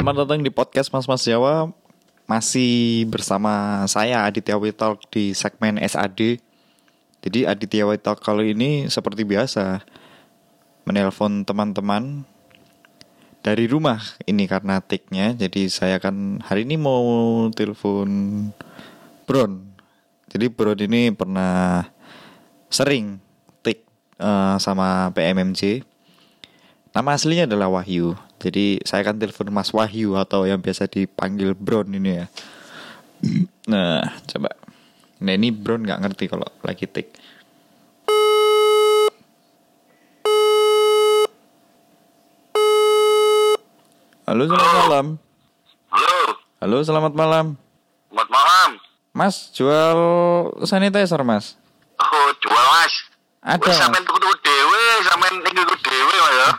Selamat datang di podcast Mas Jawa. Masih bersama saya Aditya Witalk di segmen SAD. Jadi Aditya Witalk kali ini seperti biasa menelpon teman-teman dari rumah ini karena take-nya. Jadi saya kan hari ini mau telepon Bron. Jadi Bron ini pernah sering take sama PMMJ. Nama aslinya adalah Wahyu. Jadi saya akan telepon Mas Wahyu atau yang biasa dipanggil Bron ini ya. Nah, coba. Nah, ini Bron nggak ngerti kalau lagi take. Halo, selamat malam. Halo, selamat malam. Selamat malam. Mas, jual sanitizer, Mas? Oh, jual, Mas. Ada. Wis sampean tuku dhewe, sampean niku dhewe, Mas ya.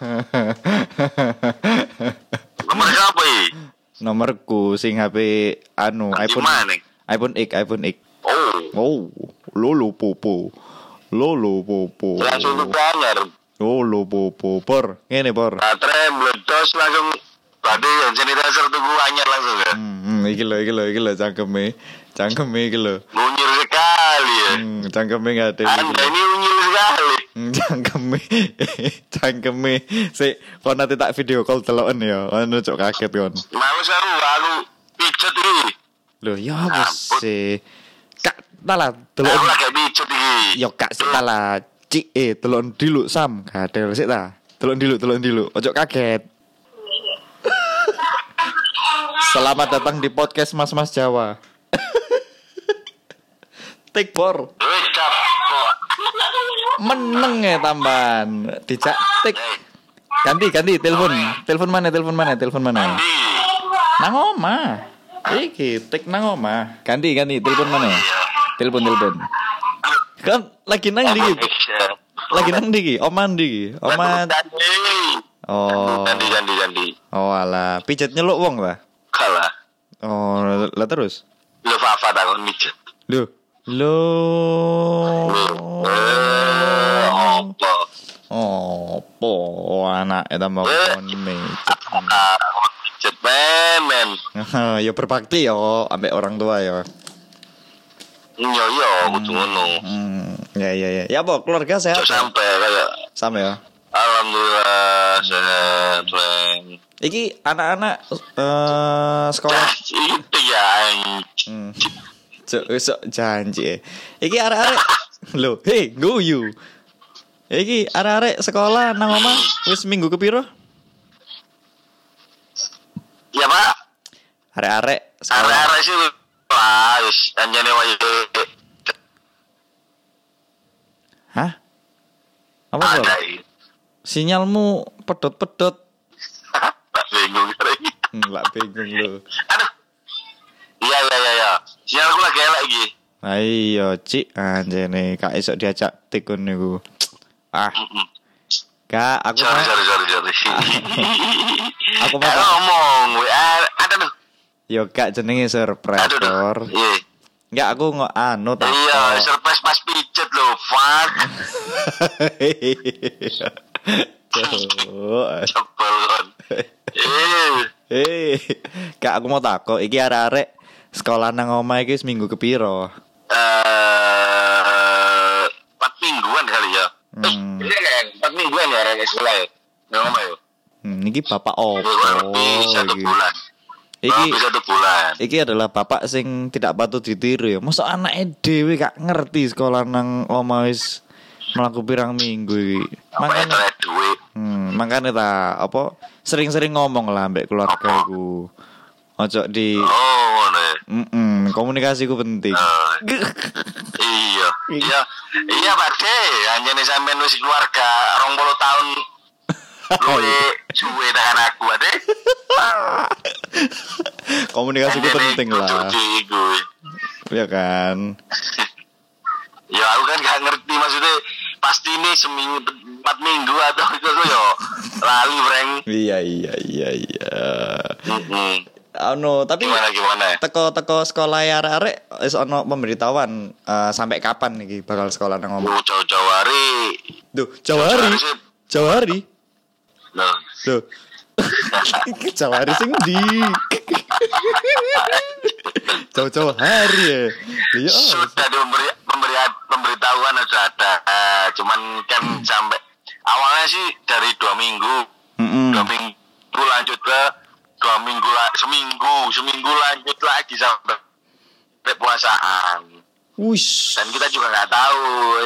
Nomor siapa iki? Nomorku sing HP iPhone. Gimana? iPhone X. Oh, Lolo popo. langsung tukaran. Lolo popo. Por, ngene por. Baterai meledos langsung tadi yang sanitizer tuku anyar langsung ya. Iki lho cangkeme iki lho. Unyil sekali ya. Cangkeme enggak ada. Anda ini unyil sekali. Cangkeme. Sik, kon nanti tak video call teloken ya. Ono cok kaget kon. Mau seru aku pijet iki. Lho, ya wis sih. Kak, tala Aku teloken. lagi pijet iki. Yo kak sik tala. Cik teloken dilu Sam. Gadel sik ta. Teloken dilu. Ojo kaget. Selamat datang di podcast Mas Jawa. Take por. Wis cap. Meneng ya tambahan. Dijak tik. Ganti telepon mana? Nang omah. Iki tik nang omah. Ganti telepon mana? Telepon. Kan lagi nang ndi? Oman ndi? Oman. Oh. Ganti. Oh alah, pijet nyeluk wong lah. Kalah. Oh, lah terus. Lu Fafa takon mijet. Loh. Opo anak eta mau kon mijet. Mijet men. Ya berbakti yo ambek orang tua ya. Yo kudu ngono. Ya. Ya apa keluarga sehat? Sampai kayak Sama ya. alhamdulillah sehat men. Iki anak-anak sekolah. Itu ya. Sok janji. Iki arek-arek. Lho, hey, go you. Iki arek-arek sekolah nang omah wis minggu kepiro? Ya Pak. Arek-arek sekolah. Arek-arek sih lah wis anjane wae. Hah? Apa bro? Sinyalmu pedot-pedot. Bingung kali. Lah bingung lu. Aduh. Iya. Sinyalku lagi elek iki. Ayo, Cik, anjene kak esok diajak tikun niku. Kak, aku Sorry. Aku mau ngomong. Ada tuh. Yo kak jenenge surprise. Iya. Enggak, aku tak. Iya, surprise pas pijet lho, fuck. Cepel kon. Kak aku mau takok, iki arek-arek sekolah nang omah iki seminggu kepiro? 4 mingguan kali ya. Iya kan, 4 mingguan ya arek sekolah ya. Nang omah yo. Niki bapak opo? Lebih 1 bulan. Iki 1 bulan. Iki adalah bapak sing tidak patut ditiru ya. Mosok anake dhewe gak ngerti sekolah nang omah wis mlaku pirang minggu iki. Makane duit. Makane ta apa sering-sering ngomong lah mbek keluarga iku. Ojo di ngono ya. komunikasi ku penting. Iya Pak De, anjene sampean wis keluarga 20 tahun. Suwe dengan aku ade. Komunikasi ku penting lah. Ya kan. Ya aku kan gak ngerti maksudnya pasti ini seminggu 4 minggu atau itu yo lali breng. Iya. Tapi gimana? Teko sekolah arek-arek wis ono pemberitahuan sampai kapan iki bakal sekolah nang omah. Jauh-jauh hari. Duh, Jauh hari. Loh. Jauh hari sing di. Jauh-jauh hari ya. Iya. Sudah pemberitahuan sudah ada. Cuman kan sampai awalnya sih dari 2 minggu. 2 minggu lanjut ke 2 minggu seminggu lanjut lagi sampai puasaan. Wush. Dan kita juga nggak tahu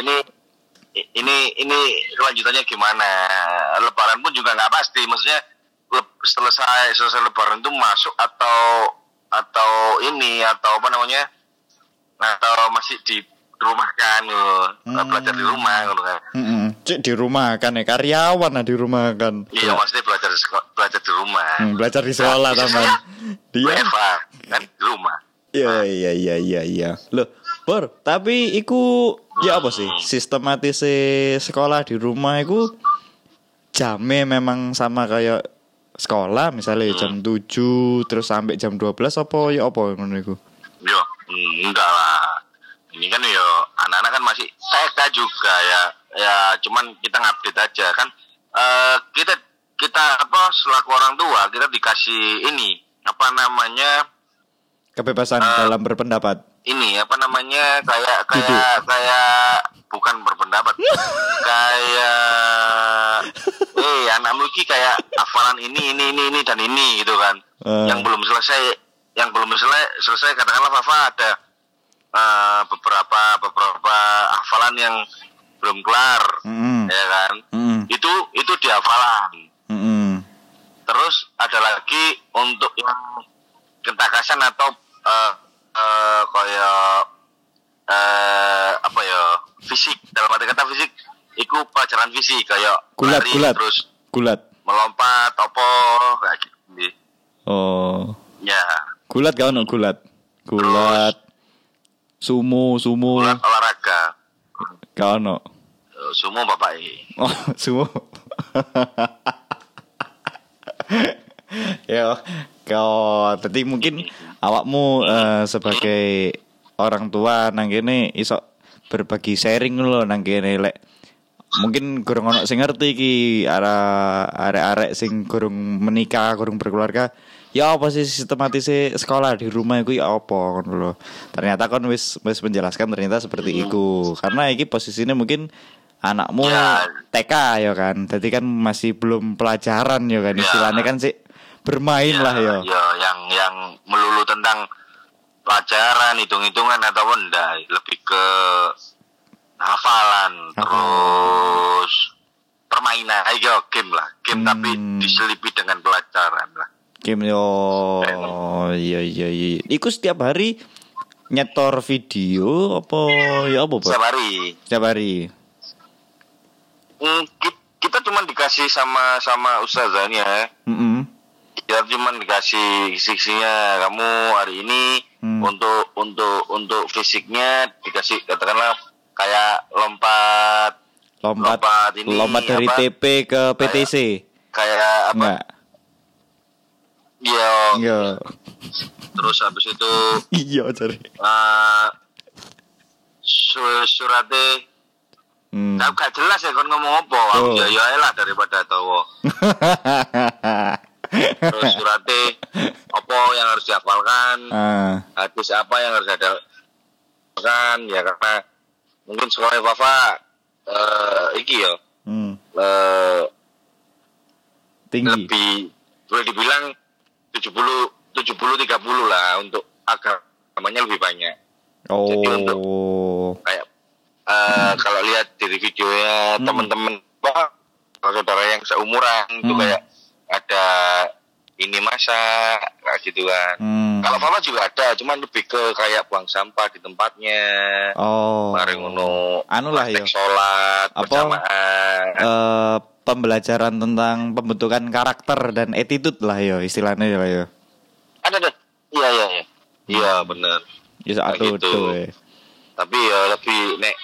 ini kelanjutannya gimana. Lebaran pun juga nggak pasti. Maksudnya selesai Lebaran itu masuk atau apa namanya, atau masih di rumah kan, belajar di rumah kan. Cik di rumah kan ya, karyawan lah di rumah kan. Iya, maksudnya belajar di rumah. Belajar di sekolah teman. Dia kan di rumah. Iya. Loh, Bor, tapi iku ya apa sih? Sistematis sekolah di rumah iku jamnya memang sama kayak sekolah misalnya jam 7 terus sampai jam 12 apa ngono iku? Yo, enggak lah. Ini kan yo anak-anak kan masih TK juga ya cuman kita ngupdate aja kan. Kita apa selaku orang tua kita dikasih ini apa namanya, kebebasan dalam berpendapat. Ini apa namanya, kayak bukan berpendapat. Kayak anakmu iki kayak hafalan ini dan ini gitu kan. Yang belum selesai katakanlah Fafa ada beberapa hafalan yang belum kelar. Ya kan? Itu dihafalan. Terus ada lagi untuk yang ketakasan atau kayak apa ya, fisik, dalam arti kata fisik itu pelajaran fisik kayak gulat terus gulat melompat kayak gitu. Oh ya, gulat gak ono gulat sumo gulat olahraga gak ono sumo bapak sumo ya kau tadi mungkin awakmu sebagai orang tua nang kene iso berbagi sharing lho nang kene lek mungkin gurung ono sing ngerti iki arek-arek sing gurung menikah, gurung berkeluarga. Ya apa sih sistematis sekolah di rumah iku ya apa ngono lho. Ternyata kan wis menjelaskan ternyata seperti itu. Karena iki posisinya mungkin anakmu TK ya kan. Jadi kan masih belum pelajaran ya kan, istilahnya kan sih bermain lah ya. Ya yang melulu tentang pelajaran, hitung-hitungan atau enggak, lebih ke hafalan, terus permainan, game lah, tapi diselipi dengan pelajaran lah. Game iya. Iku setiap hari nyetor video apa ya apa? Setiap hari. Kita cuma dikasih sama ustazahnya. Kita cuma dikasih fisiknya, kamu hari ini untuk fisiknya dikasih katakanlah kayak lompat dari apa? TP ke PTC. Kayak apa? Enggak. Iya. Terus habis itu iya cari. Suratnya gak jelas ya kon ngomong apa. Ya lah daripada tahu. Terus suratnya apa yang harus dihafalkan, hadis apa yang harus dihafalkan, ya karena mungkin sekolah Fafa iki ya tinggi, lebih boleh dibilang 70-30 lah, untuk agamanya lebih banyak. Jadi untuk kayak kalau lihat dari videonya teman-teman saudara yang seumuran itu kayak ada ini masa kayak gitu kan. Kalau Fafa juga ada, cuman lebih ke kayak buang sampah di tempatnya. Mari ngono. Anu lah ya. Sholat berjamaah. Pembelajaran tentang pembentukan karakter dan attitude lah ya istilahnya lah ya. Ada. Iya. Iya benar. Ya satu gitu. Tapi ya lebih nek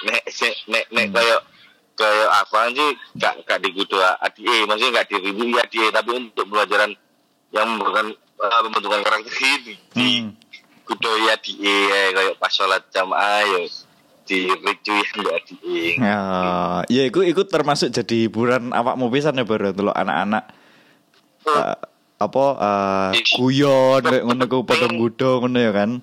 kayak apa sih gak digudu adik, maksudnya gak diribu adik, tapi untuk pelajaran yang bukan pembentukan karakter ini di kudu ya adik kayak pas sholat jamaah ya di ricu yang adik. Ya ikut termasuk jadi hiburan awakmu pisan ya baru delok anak-anak guyon ngono ku padha nggodho ngono ya kan.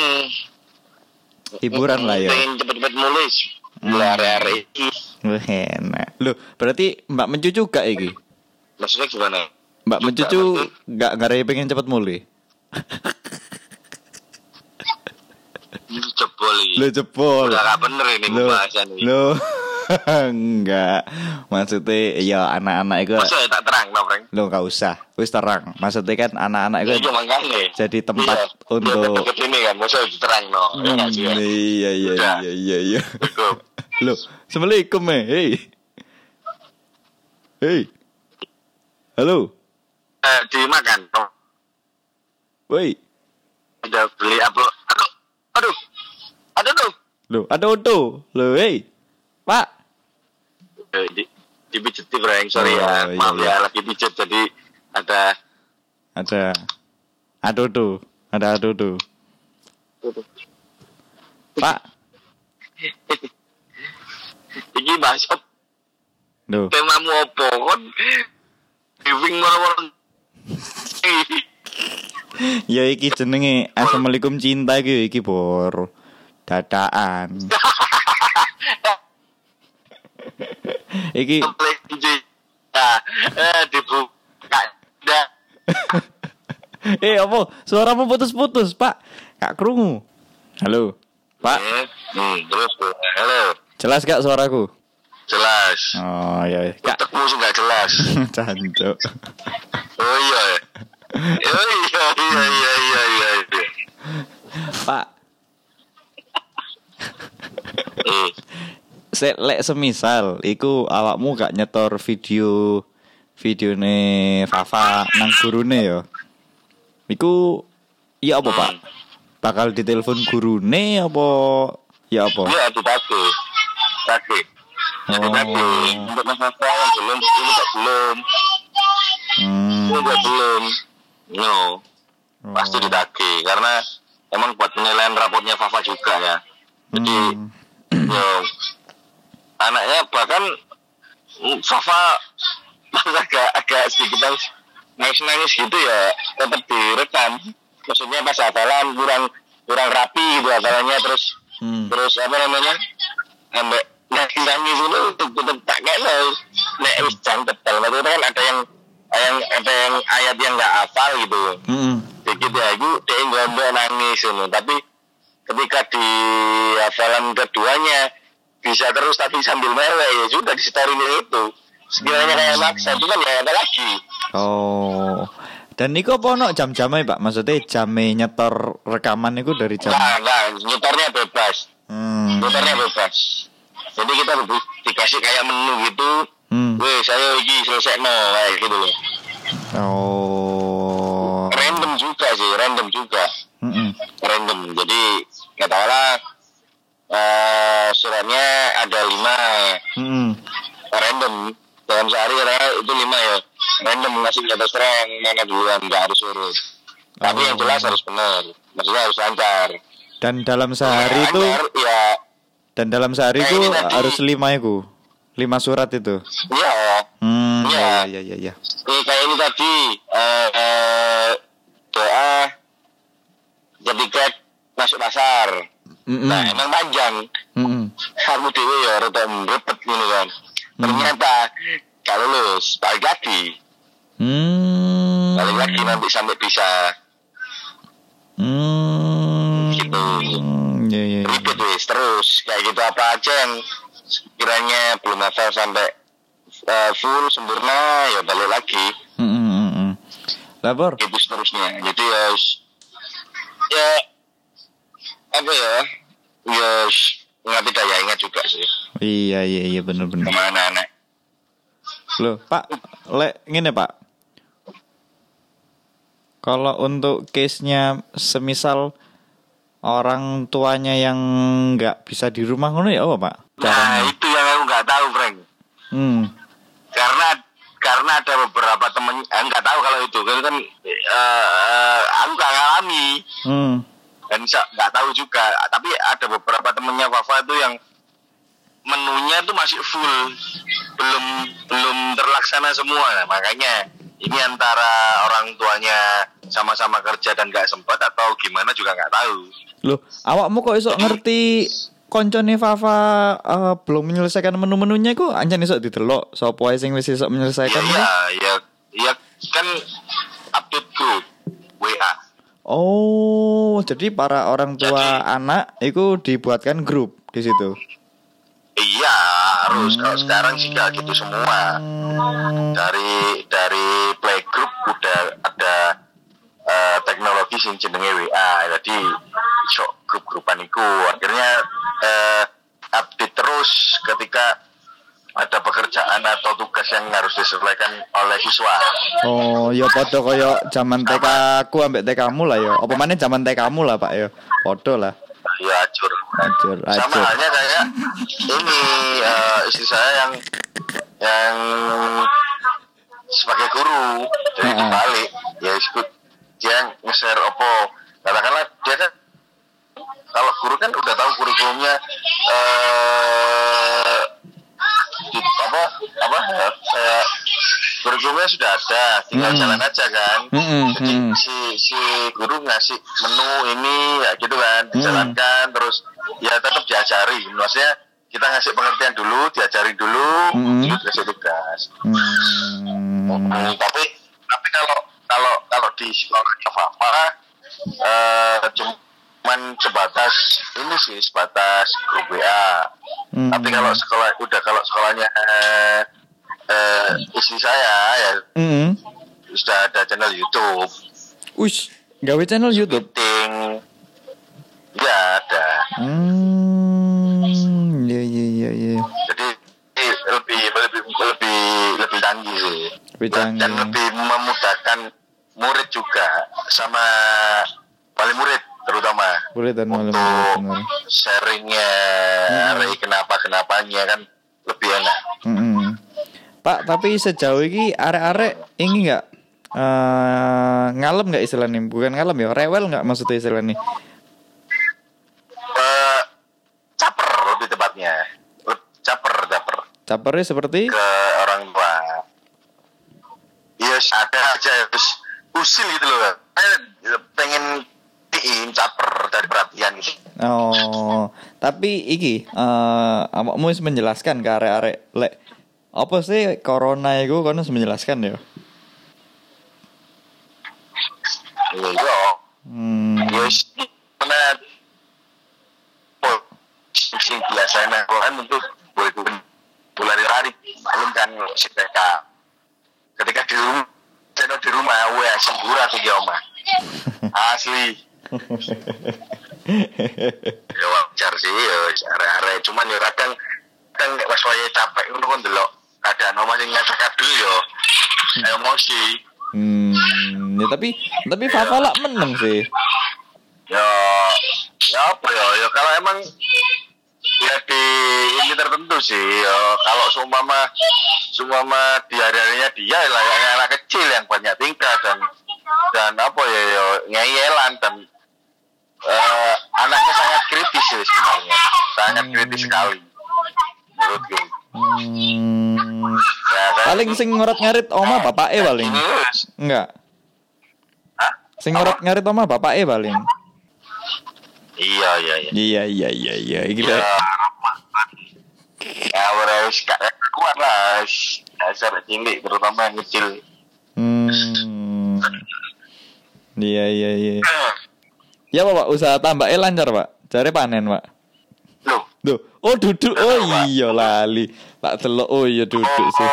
Hiburan lah ya. Pengen cepet-cepet mulai. Lari-lari iki. Enak. Loh, berarti Mbak mencucu gak iki? Maksudnya gimana? Mbak mencucu gak ngarai pengen cepet mulai. Jebol iki. Lo jebol. Udah gak bener ini pembahasan ini. Lo enggak. Maksudnya ya anak-anak itu. Maksudnya tak terang no, Frank? Lo gak usah. Wis terang. Maksudnya kan anak-anak itu jadi tempat untuk ini kan, maksudnya terang no. Iya. Lo, Assalamualaikum Hey. Halo. Dimakan. Woi. Udah beli apa? Aduh. Ada tuh. Loh, ada auto. Loh, hey. Pak. Dipijet Frank, sorry ya. Maaf ya, lagi pijet jadi ada auto. Pak. Iki bahas apa? Loh. Temamu apa kon? Giving more. Ya iki jenenge Assalamualaikum cinta iki bor. Dadaan. Iki dibuka. Apa? Suaramu putus-putus, Pak. Kak krungu. Halo, Pak. Terus, halo. Jelas gak suaraku? Jelas. Oh iya. Otakmu enggak jelas. Cancuk. Oh iya. Iya. Pak. Lek semisal iku awakmu gak nyetor videone Fafa nang gurune ya. Iku iya apa, Pak? Bakal ditelepon gurune apa ya apa? Iya, dipakai. Untuk masalah yang belum, ini tak belum. Belum. No. Pasti didaki karena emang buat penilaian rapotnya Fafa juga ya. Jadi anaknya bahkan Fafa agak sedikit nangis gitu ya, tetap direkam. Maksudnya pas hafalan kurang rapi gitu hafalannya, terus apa namanya, ambek nangis itu tetap tak kena nek wis jam tebal. Maksudnya kan ada yang ayat yang nggak hafal gitu. Dikit ya itu dia nggak nangis gitu. Tapi ketika di hafalan keduanya bisa terus tapi sambil mewek, ya sudah di story itu. Sekiranya kayak maksa itu kan ya ada lagi. Oh. Dan niku apa ono jam-jamnya, Pak? Maksudnya jamnya nyetor rekaman niku dari jam? Nah, nyetornya bebas. Nyetornya bebas. Jadi kita dikasih kayak menu gitu. Weh, saya lagi selesai kayak gitu loh. Oh. Random juga. Random. Jadi katakanlah suratnya ada 5. Random. Dalam sehari itu 5 ya. Random ngasih jatah serang mana duluan, nggak harus urut. Tapi yang jelas harus benar. Maksudnya harus lancar. Dan dalam sehari itu ya. Dan dalam sehari itu harus 5 itu. 5 surat itu. Iya. Iya. Kayak ini tadi doa ketika masuk pasar. Nah, emang panjang. Kamu dewe ya rada repet gitu kan. Ternyata kalau lulus balik lagi. Balik lagi nanti sampai bisa. Gitu. Iya. Ribet wis terus kayak gitu, apa aja yang kiranya belum hafal sampai full sempurna ya balik lagi. Labor. Gitu seterusnya. Jadi ya apa ya? Nggak daya ingat juga sih. Iya benar. Kemana anak? Loh, Pak, ngene Pak. Kalau untuk case-nya semisal orang tuanya yang nggak bisa di rumah ngono ya apa, Pak? Nah, itu yang aku nggak tahu, Frank. Karena ada beberapa temen, nggak tahu kalau itu kan aku nggak ngalami. Dan nggak tahu juga, tapi ada beberapa temennya Fafa itu yang menunya itu masih full, belum terlaksana semua. Nah, makanya ini antara orang tuanya sama-sama kerja dan nggak sempat atau gimana juga nggak tahu. Loh, awakmu kok iso ngerti koncone Fafa belum menyelesaikan menu-menunya iku ancen iso didelok sapa wae sing wis iso menyelesaikan. Iya kan update grup WA. Oh, jadi para orang tua anak itu dibuatkan grup di situ. Iya, harus. Kalau sekarang sih gak gitu semua. Dari playgroup udah ada teknologi sing jenenge WA. Jadi iso grup-grupan iku. Akhirnya update terus ketika ada pekerjaan atau tugas yang harus diselesaikan oleh siswa. Oh, ya padha kaya zaman TK aku ambek TK-mu lah ya. Apa maneh zaman TK-mu lah, Pak ya. Padha lah. Ya, acur. Sama halnya kayak ini istri saya yang sebagai guru. Jadi dibalik ya ikut dia nge-share opo. Katakanlah dia kan kalau guru kan udah tahu kurikulumnya saya kurikulumnya sudah ada, tinggal jalan aja kan. Jadi si guru ngasih menu ini ya gitu kan, dijalankan terus ya tetap diajari. Maksudnya kita ngasih pengertian dulu, diajari dulu, terus kasih tugas. Tapi kalau di sekolah Fafa cuman sebatas grup WA. Tapi kalau sekolahnya istri saya ya sudah ada channel YouTube. Ush, gawe channel YouTube. Meeting. Ya ada. Iya. Jadi lebih canggih sih. Dan lebih memudahkan murid juga sama wali murid terutama untuk sharingnya, kenapa-kenapanya kan lebih enak. Pak, tapi sejauh ini arek-arek ini nggak ngalem nggak istilahnya? Bukan ngalem ya, rewel nggak maksudnya istilahnya? Caper lebih tepatnya, caper. Capernya seperti? Ke orang tua. Yes, ada aja usil gitu loh. Pengen caper dari perhatian gitu. Oh, tapi iki awakmu wis menjelaskan ke arek-arek lek apa sih corona iku kono menjelaskan ya? Iya. Yes, benar. Sing biasanya kan untuk bulan hari belum kan sepeka. Ketika di rumah wah sembura tiga omah. Asli. Ya wajar sih ya are-are cuman ya kadang nek pas wayahe capek ngono kon delok keadaan omah sing ngasak dulu ya emosi. Ya tapi Fafa lak meneng sih. Ya apa ya kalau emang ya di ini tertentu sih ya kalau seumpama di hari-harinya dia layaknya anak kecil yang banyak tingkah dan apa ya ngeyelan dan anaknya sangat kritis sih sebenarnya, sangat kritis sekali menurutku. Ya, kan? Paling sing ngoret-ngarit oma bapake paling. Enggak. Sing ngoret-ngarit oma bapake paling. Iya. Iki ya, ya harus kuat lah. Dasar cilik terutama yang kecil. Iya. Ya Pak, usaha tambake lancar Pak. Jare panen Pak. Loh, oh duduk. Oh iya lali. Tak delok oh iya duduk sih.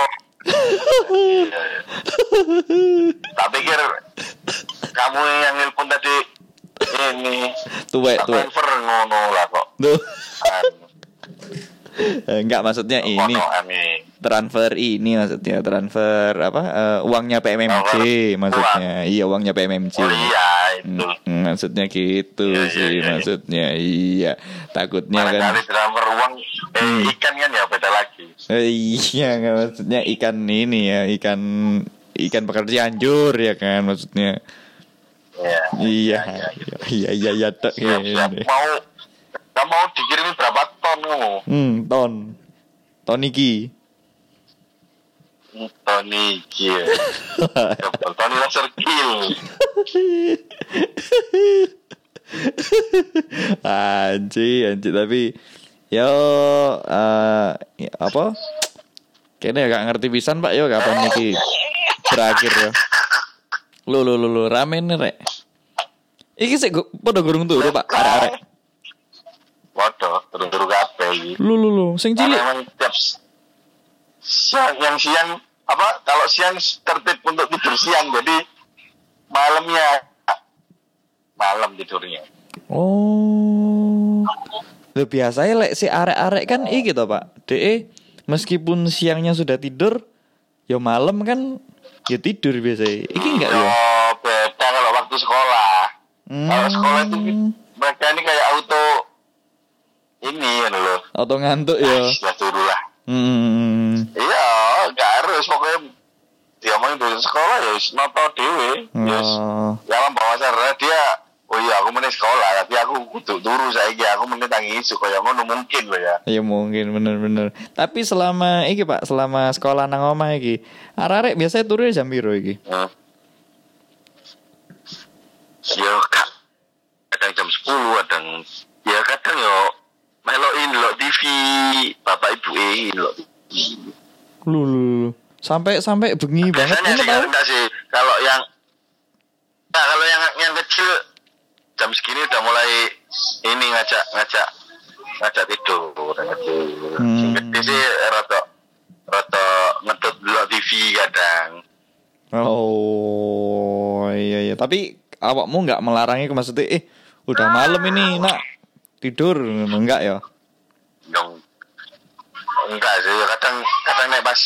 Tak pikir kamu yang nelpon tadi ini tuwek. Transfer ngono lah kok. Duh. Enggak maksudnya ini transfer uangnya PMMC maksudnya. Iya uangnya PMMC. Oh iya itu. Maksudnya gitu sih. Maksudnya iya. Takutnya kan transfer uang ikan kan ya beda lagi. Iya nggak maksudnya ikan ini ya ikan pekerjaan jur ya kan maksudnya. Iya tak mau dikirimin berapa ton kamu? Ton iki. Tony Kill. Tony laser kill. Anjir tapi yo apa? Kayaknya gak ngerti pisan Pak yo kapan iki berakhir ya. Lu rame nih rek. Iki sik padha gurung turu Pak arek-arek. Padha turu kabeh iki. Lu sing cilik. Memang tiap siang apa kalau siang tertib untuk tidur siang jadi malam tidurnya. Oh. Lho biasanya lek si arek-arek kan iki to Pak. Meskipun siangnya sudah tidur, ya malam kan ya tidur biasanya. Iki enggak ya? Oh, beda kalau waktu sekolah. Kalau sekolah itu mereka ini kayak auto ini loh. Auto ngantuk ya. Sudah turu lah. Iya, enggak harus pokoknya diomongin dari sekolah ya noto dhewe. Yes. Ya alam bawah sadar dia oh iya aku meneh sekolah tapi aku kudu turu saiki aku meneh tangi isu kaya ngono mungkin lho ya. Iya mungkin bener. Tapi selama iki Pak, selama sekolah nang omah iki, arek-arek biasanya turu jam piro iki? Ya kadang jam 10, kadang yo melokin lo TV, bapak ibu lo TV. Lu. Sampai bengi banget ini tahu. Enggak sih, kalau yang kecil jam segini udah mulai ini ngajak tidur Sing gede sih rata ngedot lo TV kadang. Oh iya tapi awakmu nggak melarangnya maksudnya udah malam ini nak tidur enggak ya? Enggak sih kadang nek pas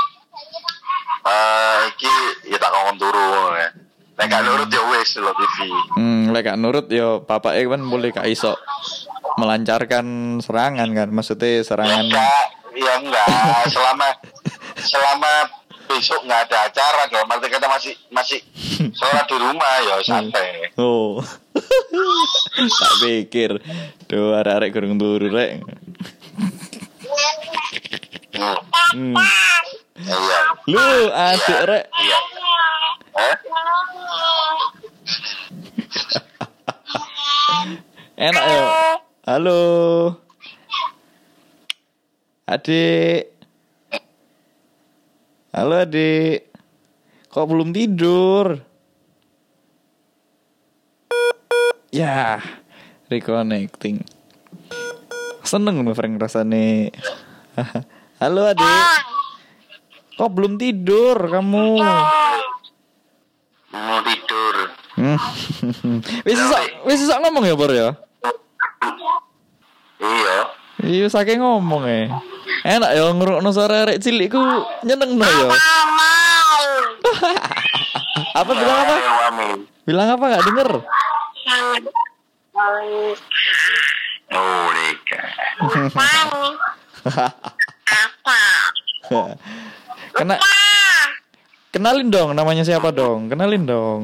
iki ya tak ngomong turu ya. Nek gak nurut ya wis lo TV. Nek gak nurut ya bapake kan boleh gak iso melancarkan serangan kan maksudnya serangan. Enggak selama besok nggak ada acara dong. Nanti kita masih sholat di rumah ya santai. Oh, tak pikir, tuh arek kurang turu rek. Iya. Lu adik rek. Iya. Enak ya. Halo. Adik. Halo adik. Kok belum tidur? Ya, reconnecting. Seneng nih Frank rasanya. Halo adik. Kok belum tidur kamu? Mau tidur. Wis iso ngomong ya, Bor ya? Iya. Iya saking ngomong enak ya ngrungokno suara arek cilik ku nyenengno ya. Apa bilang apa? Bilang apa enggak denger? Oh, Rika. Kenalin dong namanya siapa dong? Kenalin dong.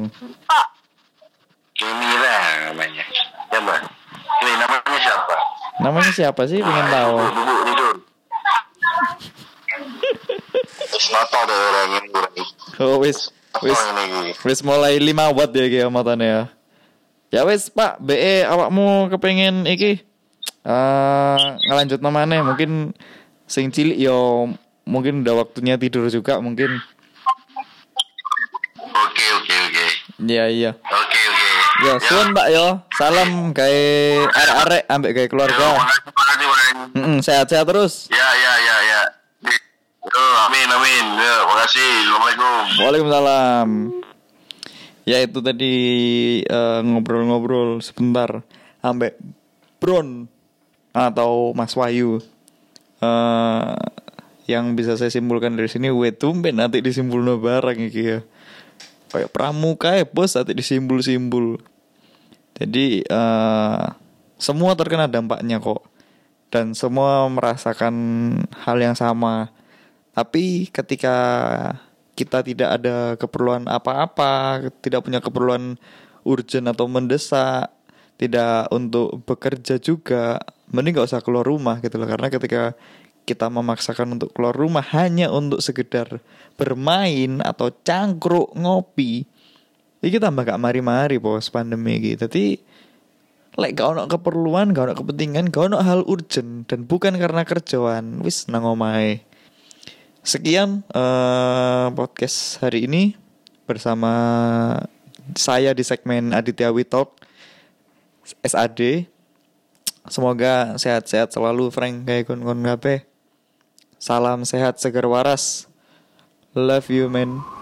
Kemira namanya. Ya, Mbak. Ini namanya siapa? Namanya siapa sih? Pengen tahu. Tidur. Nata ada orang ini. Oh, wis mulai 5 watt ya ki matane ya. Ya wis Pak, BE awakmu kepengen iki ngelanjut namanya mungkin sing cilik yo mungkin udah waktunya tidur juga mungkin. Oke. Iya. Oke. Ya, suwun Mbak yo. Salam gawe arek-arek ambek gawe keluarga. Sehat-sehat terus. Ya. Amin. Ya, makasih. Assalamualaikum. Waalaikumsalam. Ya itu tadi ngobrol-ngobrol sebentar ambek Bron atau Mas Wahyu. Yang bisa saya simpulkan dari sini tumben nanti disimpulno barang iki ya. Kayak pramuka bos nanti disimbul-simbul. Jadi semua terkena dampaknya kok. Dan semua merasakan hal yang sama. Tapi ketika kita tidak ada keperluan apa-apa, tidak punya keperluan urgent atau mendesak, tidak untuk bekerja juga, mending gak usah keluar rumah gitu loh. Karena ketika kita memaksakan untuk keluar rumah hanya untuk sekedar bermain atau cangkruk ngopi, iki tambah gak mari-mari bos pandemi iki. Dadi lek gak ono keperluan, gak ono kepentingan, gak ono hal urgent dan bukan karena kerjaan, wis nang omahe. Sekian podcast hari ini bersama saya di segmen Aditya We Talk SAD. Semoga sehat-sehat selalu Frank kayak kon-kon kabeh. Salam sehat seger waras. Love you man.